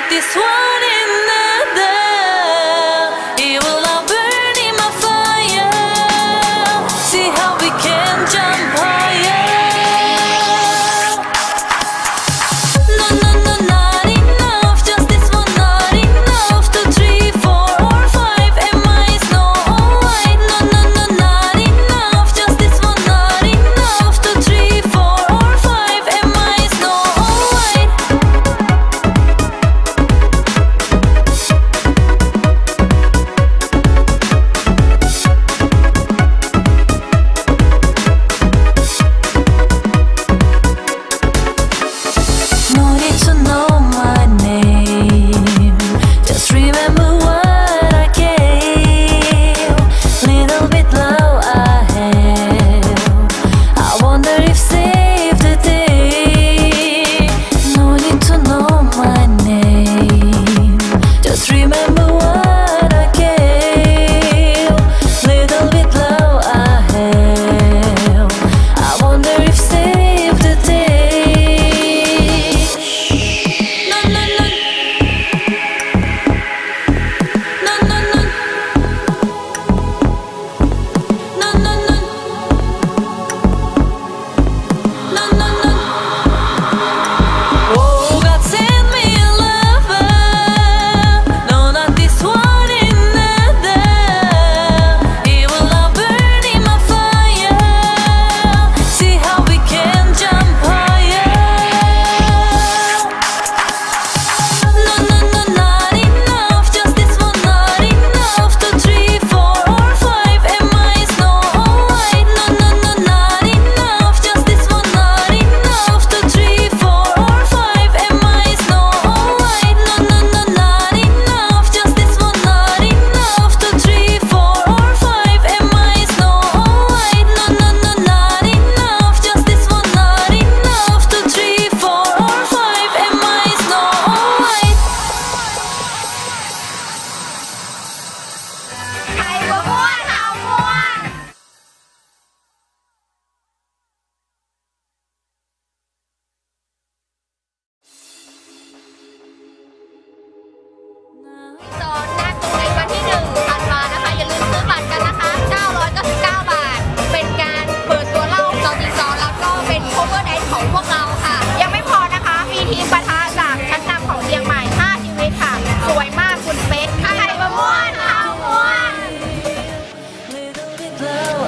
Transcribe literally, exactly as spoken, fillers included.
this one another. It will all burn in my fire. See how we can jump higher. No, no, no, not enough. Just this one, not enough. Two, three, four, or five. Am I Snow White? No, no, no, not enough. Just this one, not enough. Two, three, four, or five. Am I Snow White? No need to know my name. Just remember what I gave. Little bit low I have. I wonder if save the day. No need to know my name. Just remember what I gave. Little bit low I have. I wonder if save the day. No, no, no. No, no, no. No, no, no. No, no, no. Oh, God send me a lover. No, not this one another. It will all burn in my fire. See how we can jump higher. No, no, no, not enough. Just this one, not enough. Two, three, four, or five. Am I Snow White? No, no, no, not enough. Just this one, not enough. Two, three, four, or five. Am I Snow White? No, no, no, not enough. Just this one, not enough. Two, three, four, or five. Am I Snow White? No, no, no, not enough. Just this one, not enough. Two, three, four, or five. Am I Snow White? ใครบ่ม่วนเฮาม่วน สอนหน้าตูในวันที่หนึ่งธันวานะคะ อย่าลืมซื้อบัตรกันนะคะ เก้าร้อยเก้าสิบเก้า บาท เป็นการเปิดตัวเล่าตอนที่สองแล้วก็เป็น cover dance ของพวกเราค่ะ ยังไม่พอนะคะ มีทีมปะทะจากชั้นนำของเชียงใหม่ ห้า ชีวิตค่ะ สวยมากคุณเป๊กใครบ่ม่วนเฮาม่วน Little bit low